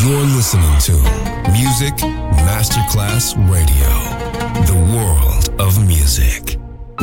You're listening to Music Masterclass Radio, the world of music.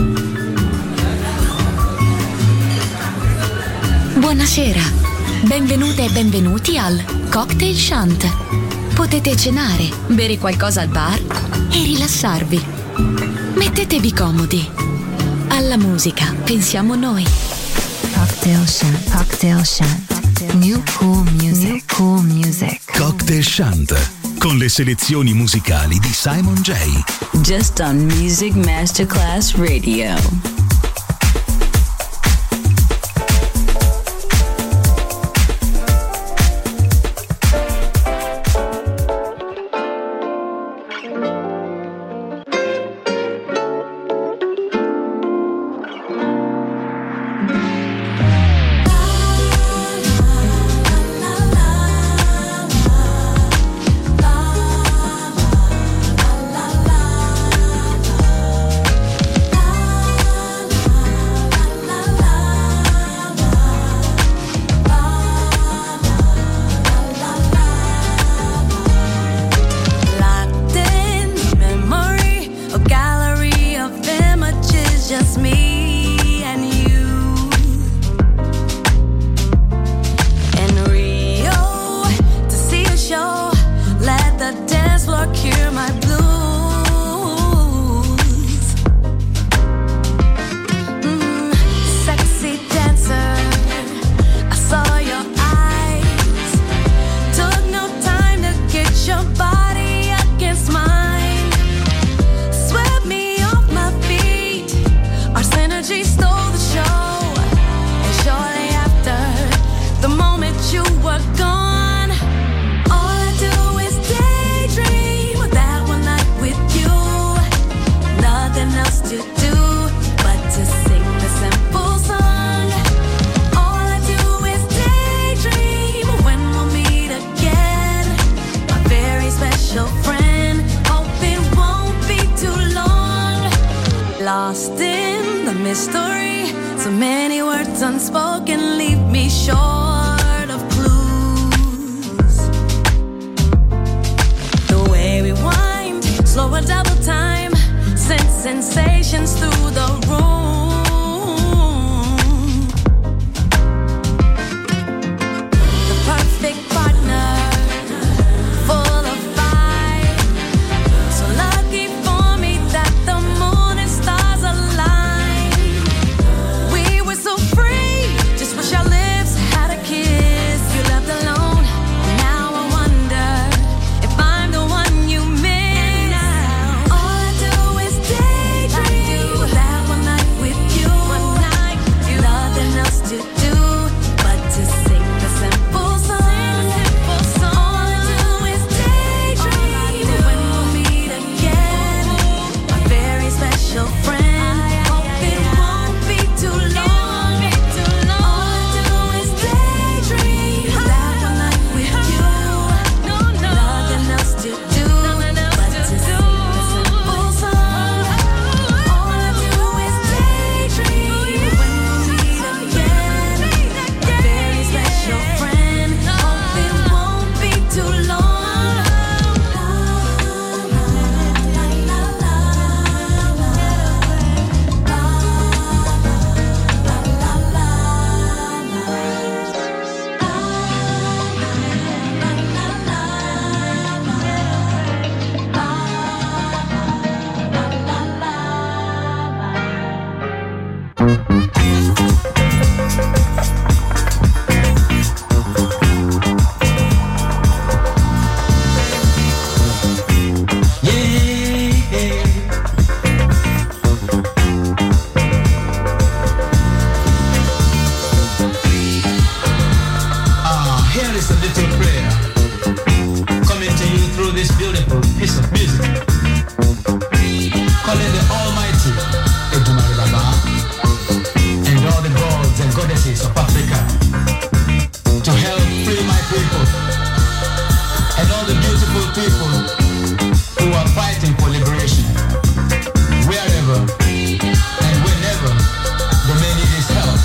Buonasera, benvenute e benvenuti al Cocktail Shant. Potete cenare, bere qualcosa al bar e rilassarvi. Mettetevi comodi. Alla musica pensiamo noi. Cocktail Shant, Cocktail Shant. New cool music, new cool music. Cocktail Shant, con le selezioni musicali di Simon J. Just on Music Masterclass Radio.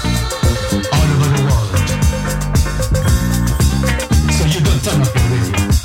Turn up your radio.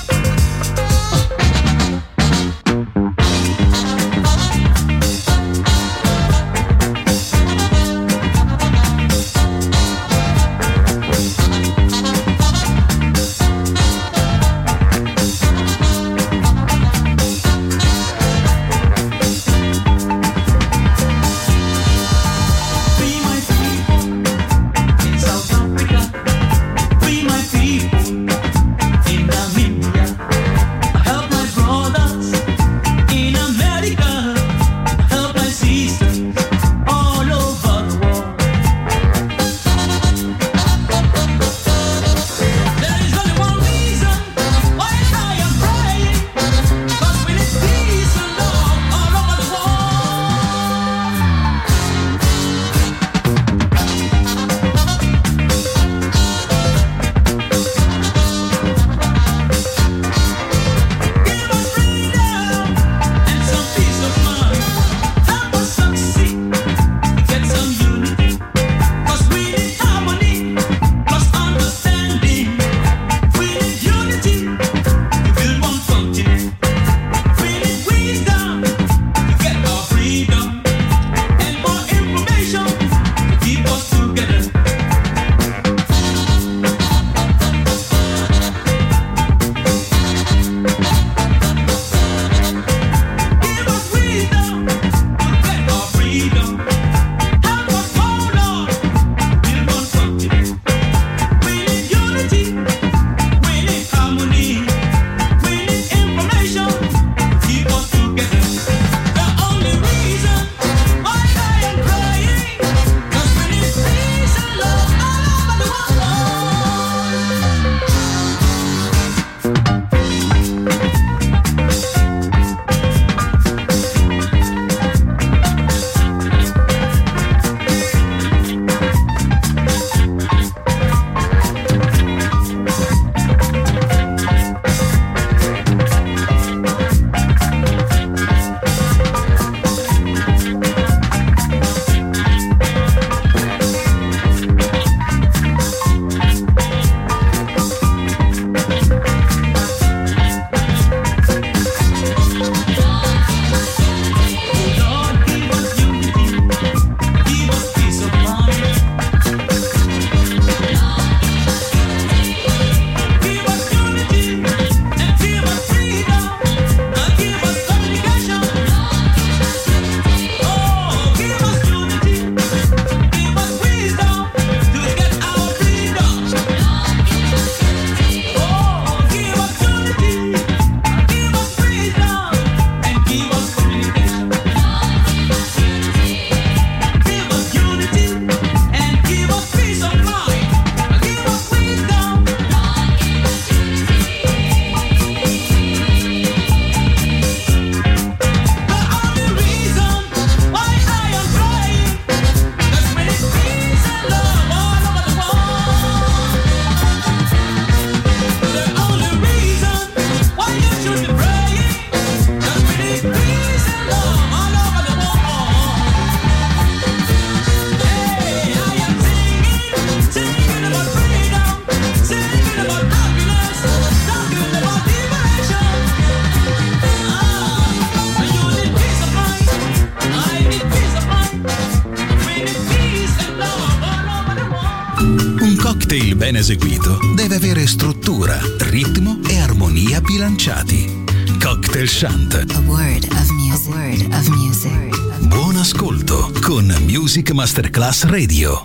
ben eseguito deve avere struttura, ritmo e armonia bilanciati. Cocktail Chant. A word of music. A word of music. Buon ascolto con Music Masterclass Radio.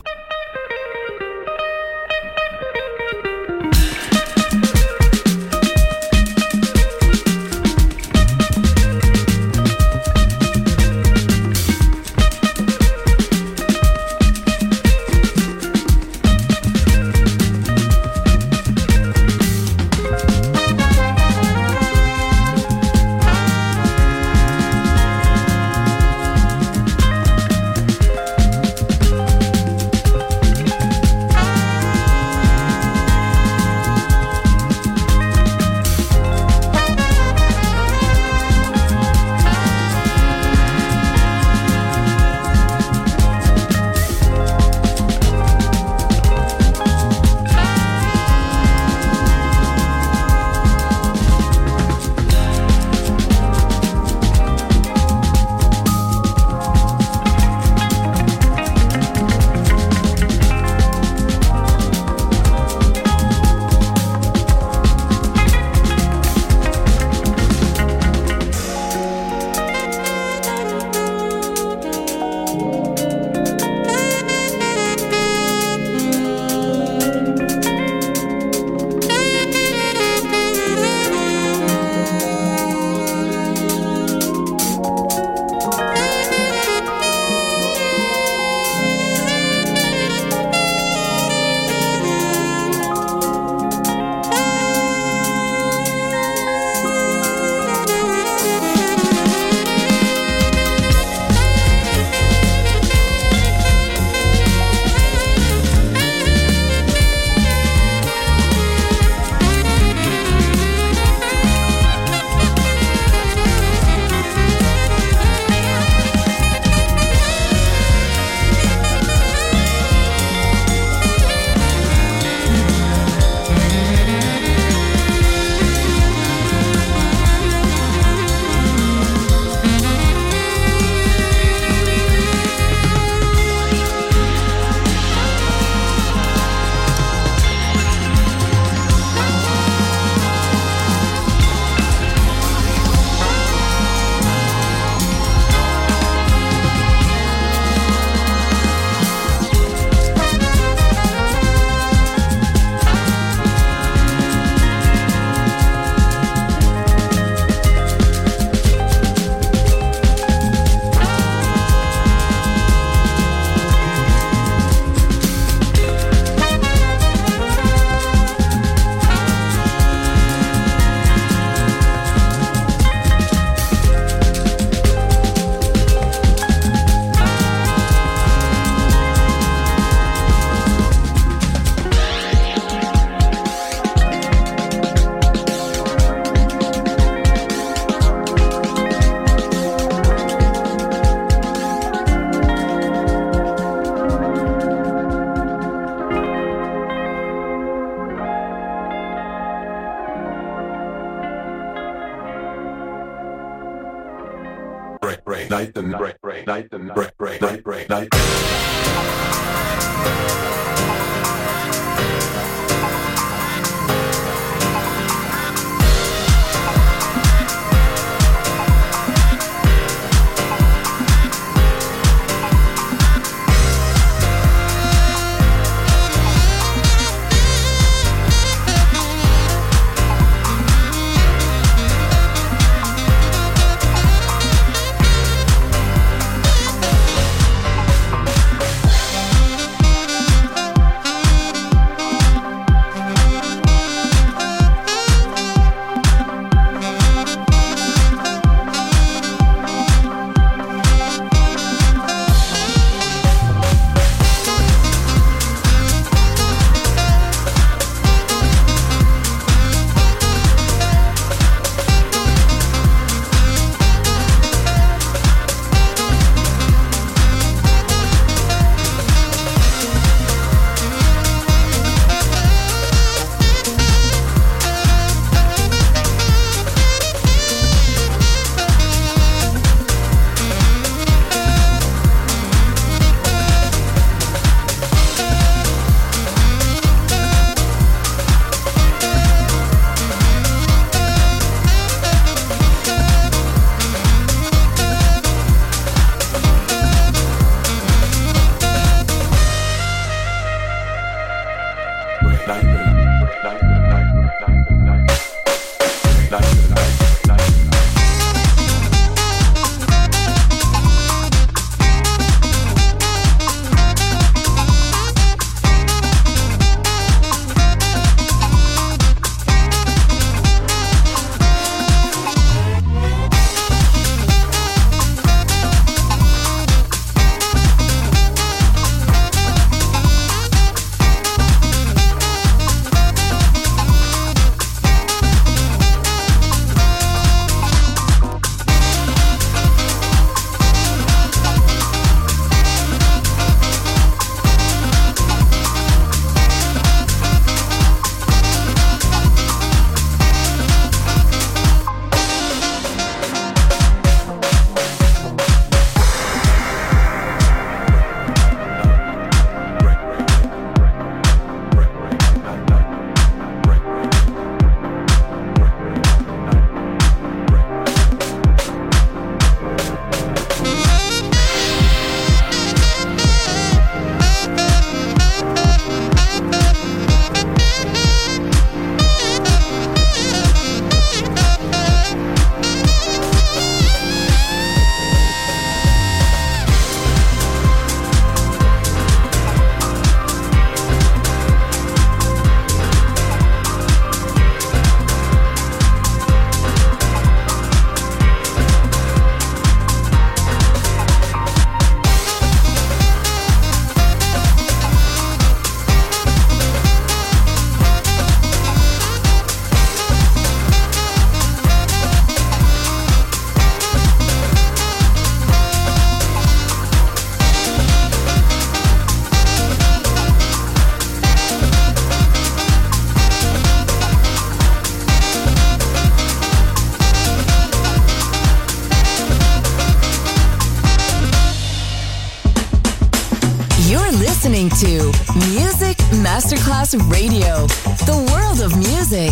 to Music Masterclass Radio, the world of music.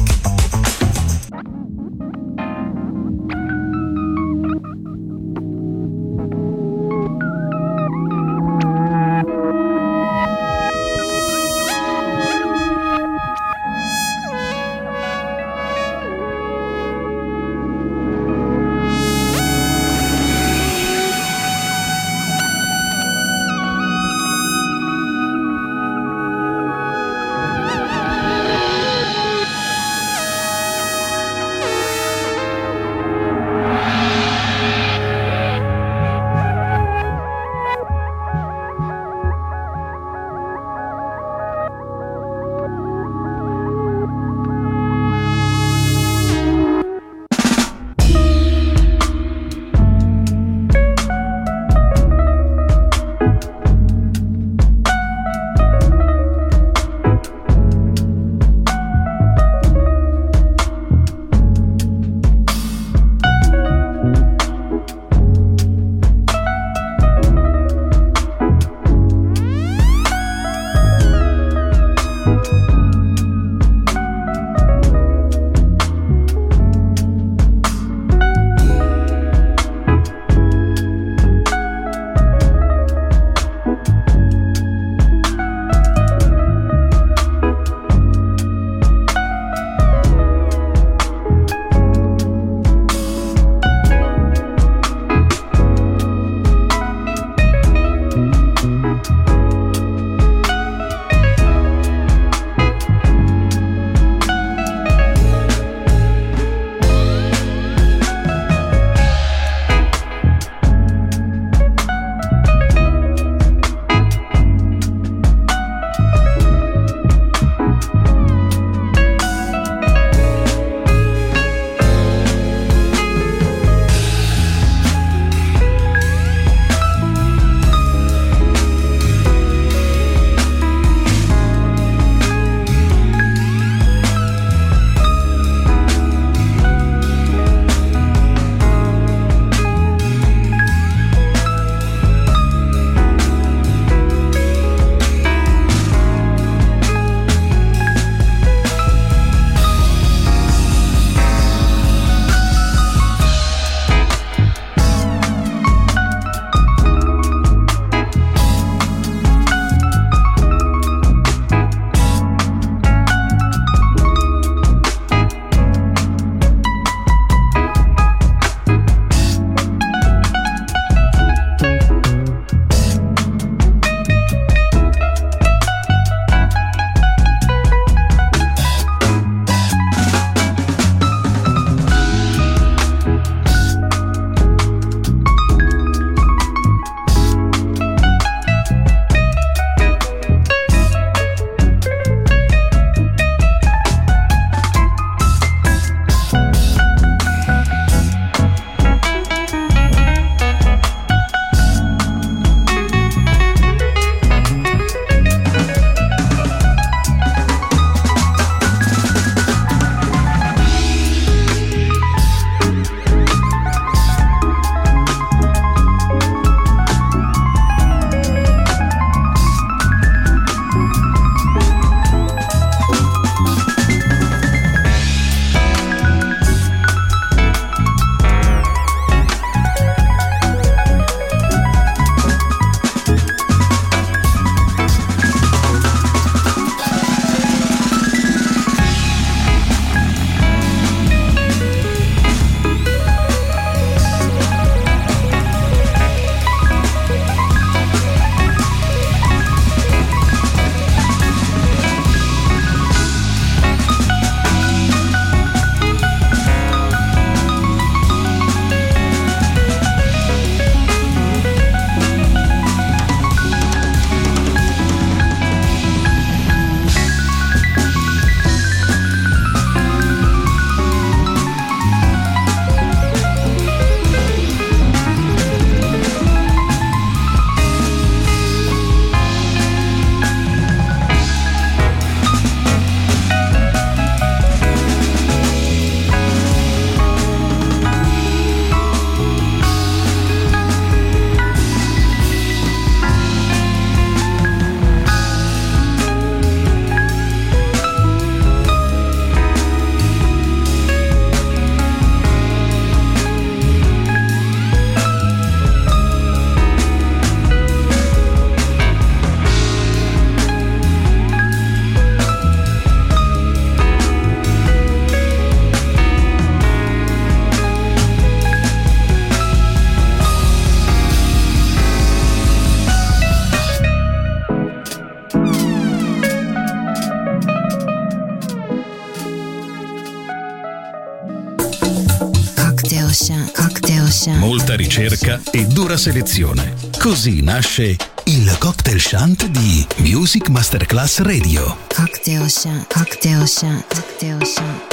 Shant, Cocktail Shant. Molta ricerca e dura selezione. Così nasce il Cocktail Shant di Music Masterclass Radio. Cocktail Shant, Cocktail Shant, Cocktail Shant.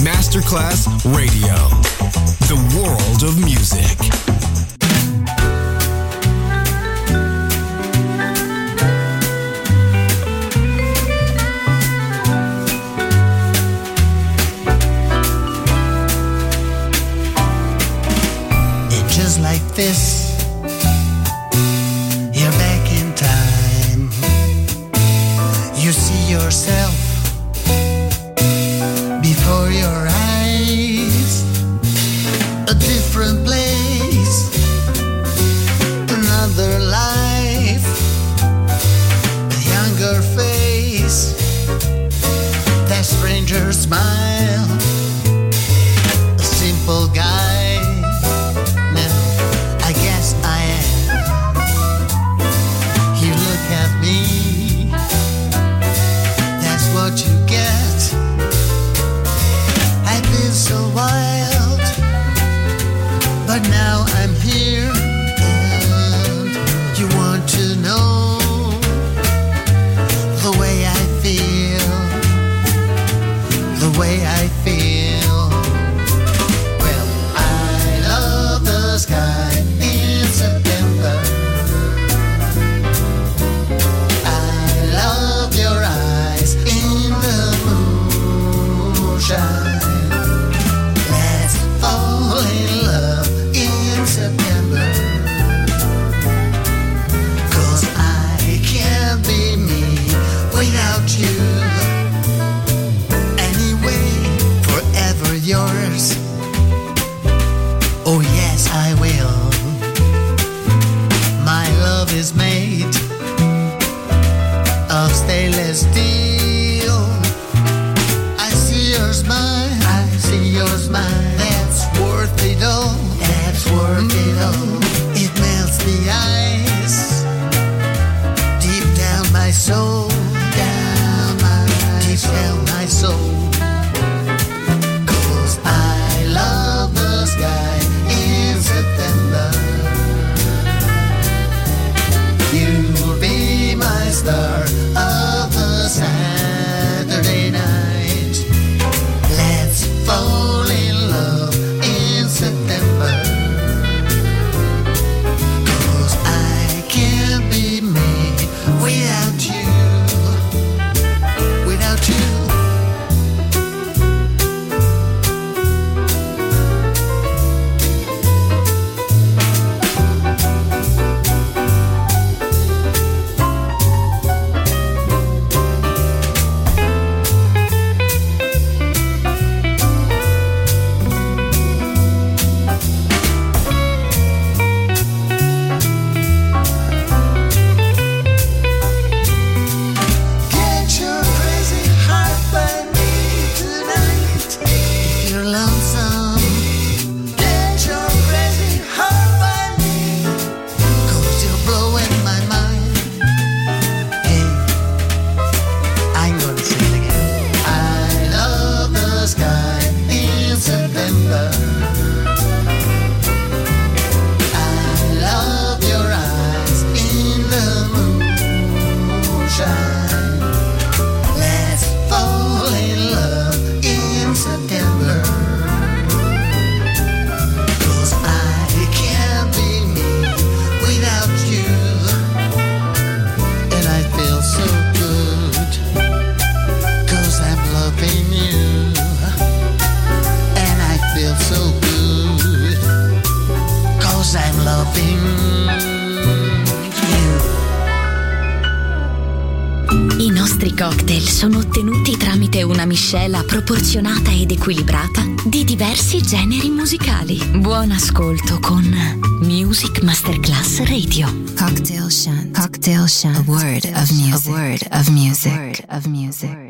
Masterclass Radio. The world of music. Just like this, you're back in time. You see yourself before your eyes, a different place, another life, a younger face, that stranger smile, a simple guy. What you get, I've been so wild, but now I'm here, and you want to know the way I feel, the way I feel. Well, I love the sky in September. I love your eyes in the moonshine. Let's fall in love in September. 'Cause I can't be me without you. Anyway, forever yours. Oh yes, I will. My love is made of stainless steel. I see your smile, I see your smile. That's worth it all, that's worth it all. It melts the ice deep down my soul, deep down my soul. 'Cause I love the sky in September. You'll be my star of the Saturday night. Let's fall in love in September. 'Cause I can't be me without you, without you. Get your crazy heart by me tonight. If you're lonesome, get your crazy heart by me. 'Cause you're blowing my mind. Hey, I'm gonna sing it again. I love the sky in September. I love your eyes in the moonshine. Let's fall in love in September. 'Cause I can't be me without you. And I feel so good, 'cause I'm loving you. And I feel so good, 'cause I'm loving you. I nostri cocktail sono ottenuti tramite una miscela proporzionata ed equilibrata di diversi generi musicali. Buon ascolto con Music Masterclass Radio. Cocktail Shant. Cocktail Shant. A word of music. A word of music. A word of music.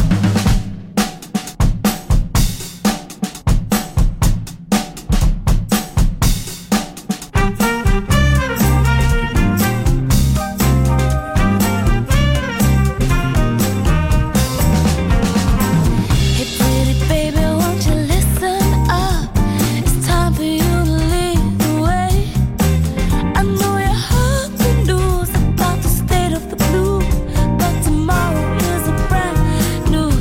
Hey pretty baby, won't you listen up? It's time for you to lead the way. I know you heard the news about the state of the blue, but tomorrow is a brand new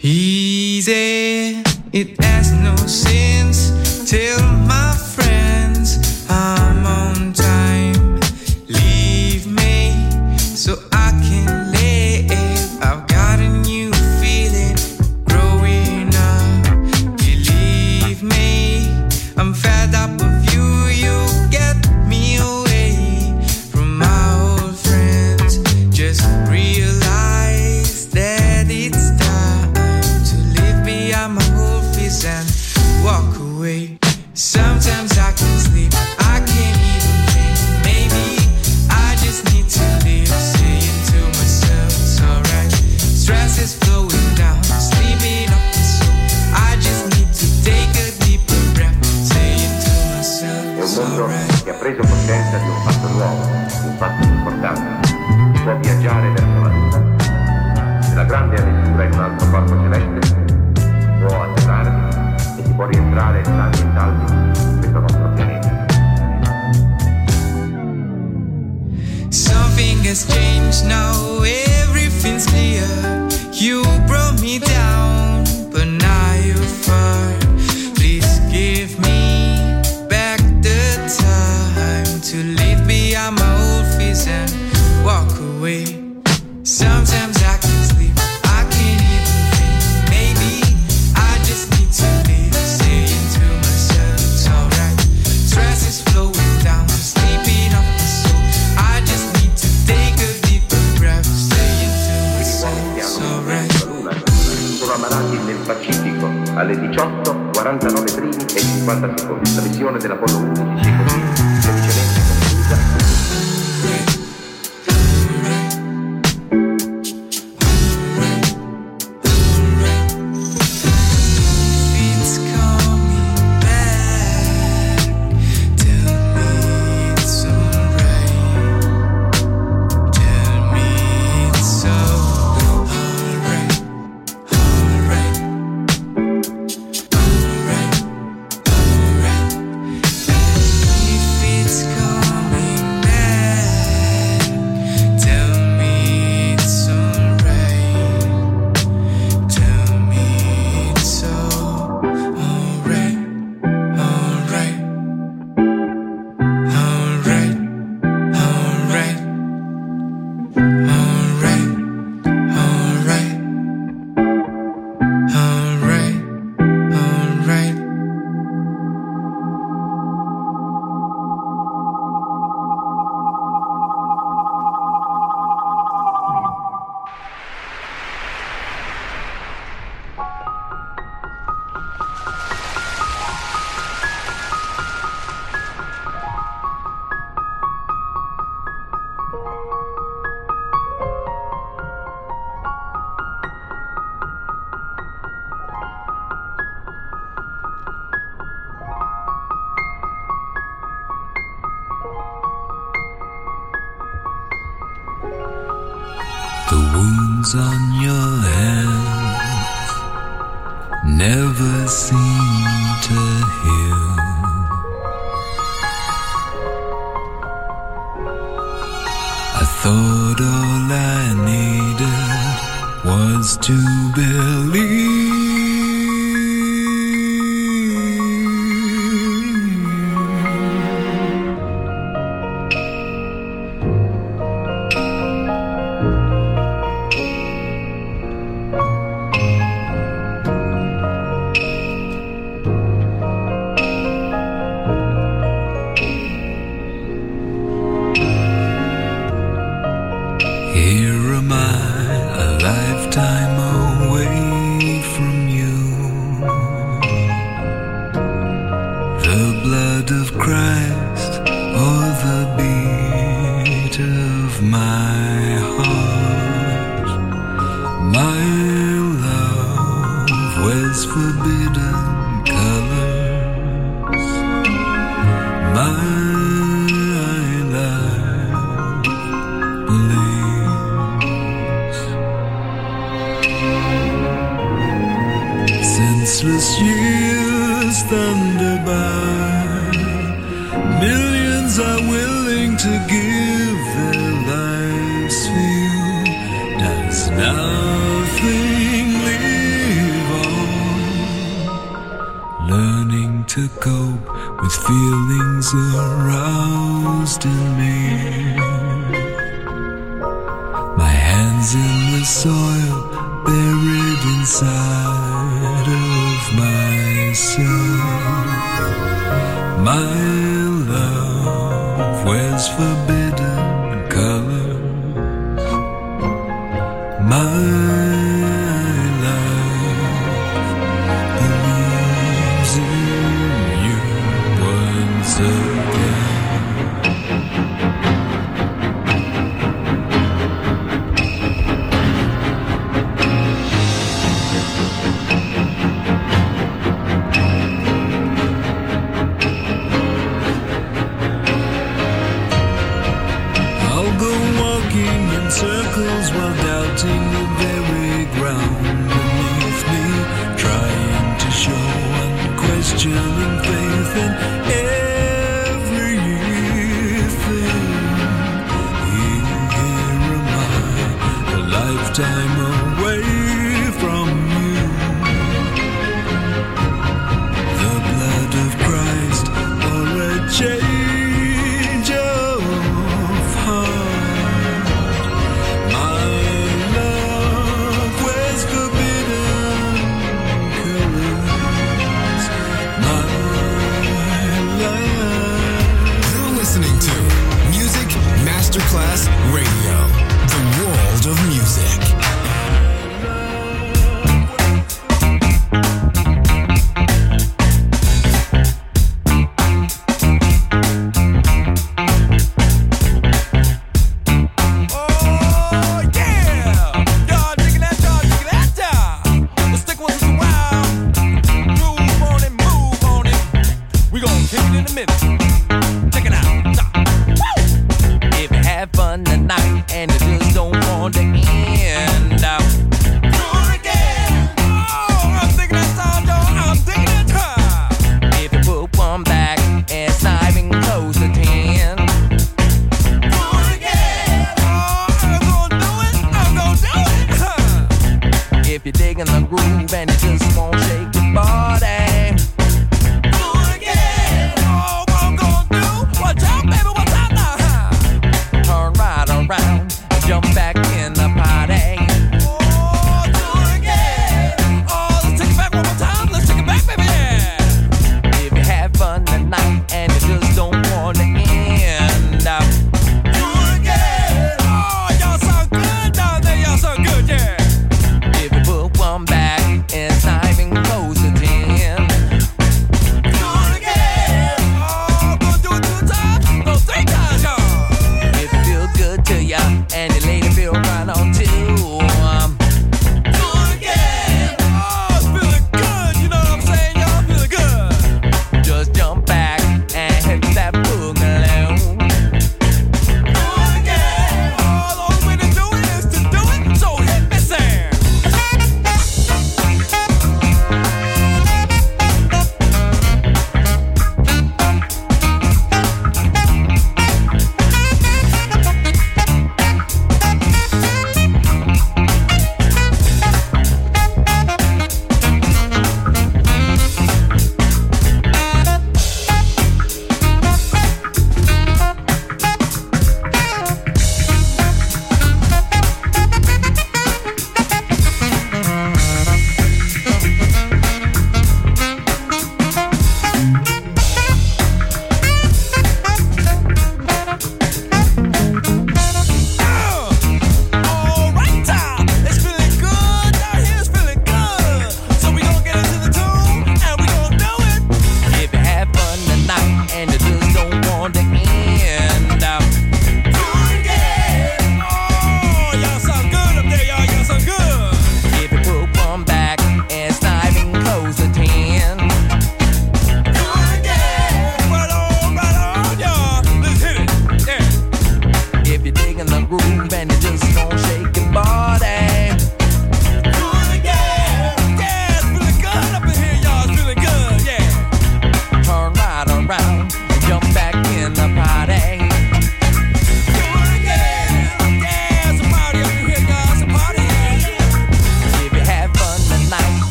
easy. It has no sense. Tell my friends I'm on time. Leave me so I can live. I've got a new feeling growing up. Believe me, I'm fed up of you. You get me away from my old friends. Just realize that it's time to leave behind my old face and walk away. Sometimes I can't sleep, I can't even think. Maybe I just need to live, saying to myself it's alright. Stress is flowing down, sleeping up the soul. I just need to take a deeper breath, saying to myself it's alright. Che ha preso coscienza di un fatto nuovo, di un fatto importante. Si può viaggiare verso la luna, e la grande avventura in un altro corpo celeste, può atterrare e si può rientrare sani e salvi in questo nostro pianeta. Something has changed now, everything's clear. You brought me down, but now you're far. Please give me back the time to leave behind my old fears and walk away. Sometimes I can't sleep, I can't even think. Maybe I just need to live, saying to myself it's alright. Stress is flowing down, sleeping off the soul. I just need to take a deeper breath, saying to myself it's alright. Sono ammalati nel Pacifico alle 18:49 primi e 50 secondi. La missione dell'Apollo 11 è così felicemente conclusa. It's coming back. Tell me it's alright. Tell me it's alright. Alright. If it's coming back, tell me it's alright. Tell me it's alright. Alright. Alright. Alright. Alright. Alright. Alright. Alright. The wounds on your hands never seem to heal. I thought all I needed was to Here am I, a lifetime away from you. The blood of Christ, or the beat of my heart. My love wears forbidden colors. My life bleeds. Senseless years thunder by. Millions are willing to give their lives for you. Does nothing leave to cope with feelings aroused in me. My hands in the soil, buried inside of myself. My love wears forbidden colors. My love believes in you once again. I'll go walking in circles while doubting the very ground beneath me, trying to show unquestioning faith in everything. Here am I, a lifetime away from you. The blood of Christ or a change of heart. My love wears forbidden colors. My love. You're listening to Music Masterclass Radio, the world of music. If you put one back and it's not even close to 10.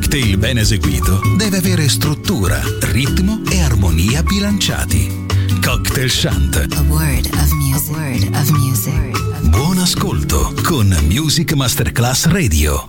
cocktail ben eseguito deve avere struttura, ritmo e armonia bilanciati. Cocktail Shant. A word of music. A word of music. Buon ascolto con Music Masterclass Radio.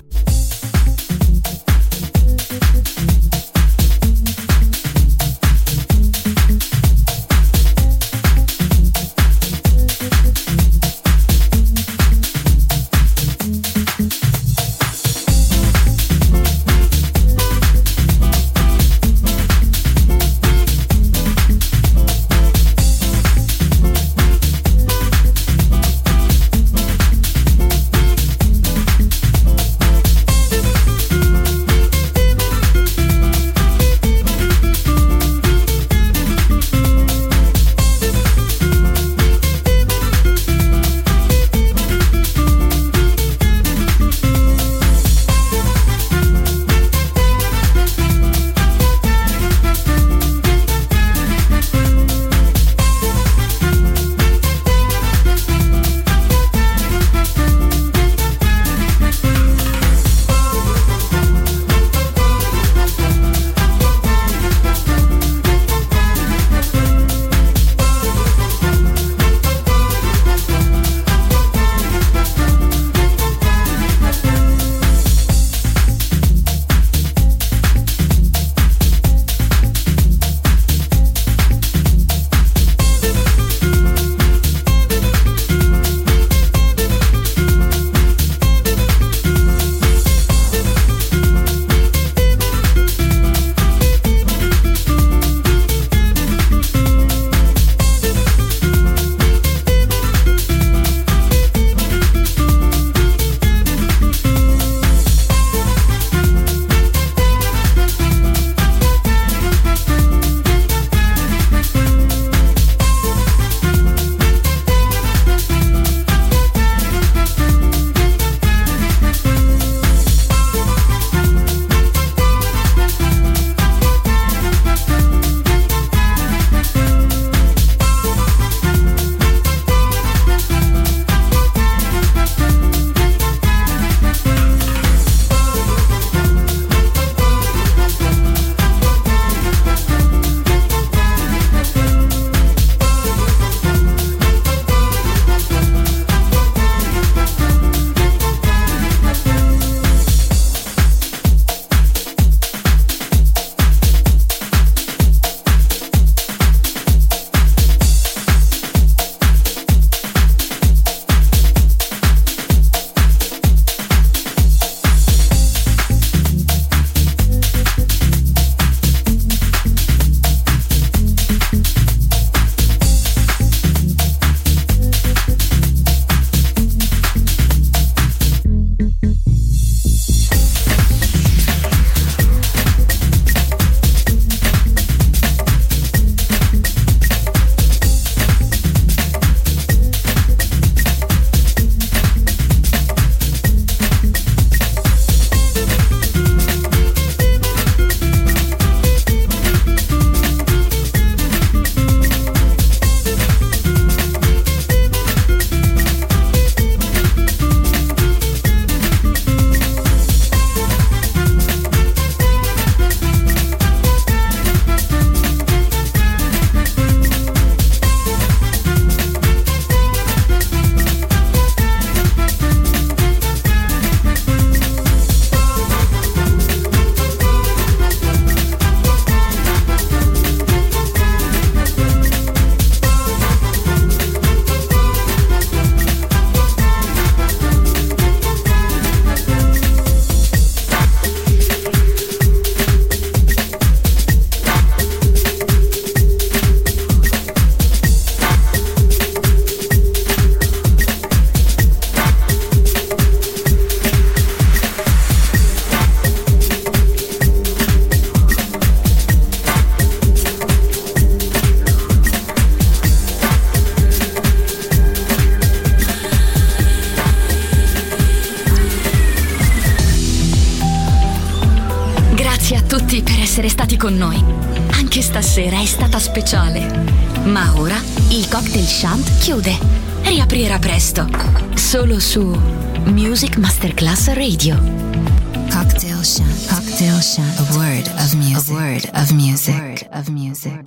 tutti per essere stati con noi. Anche stasera è stata speciale. Ma ora il Cocktail Shant chiude. Riaprirà presto. Solo su Music Masterclass Radio. Cocktail Chant. Cocktail Chant. A word of music. A word of music.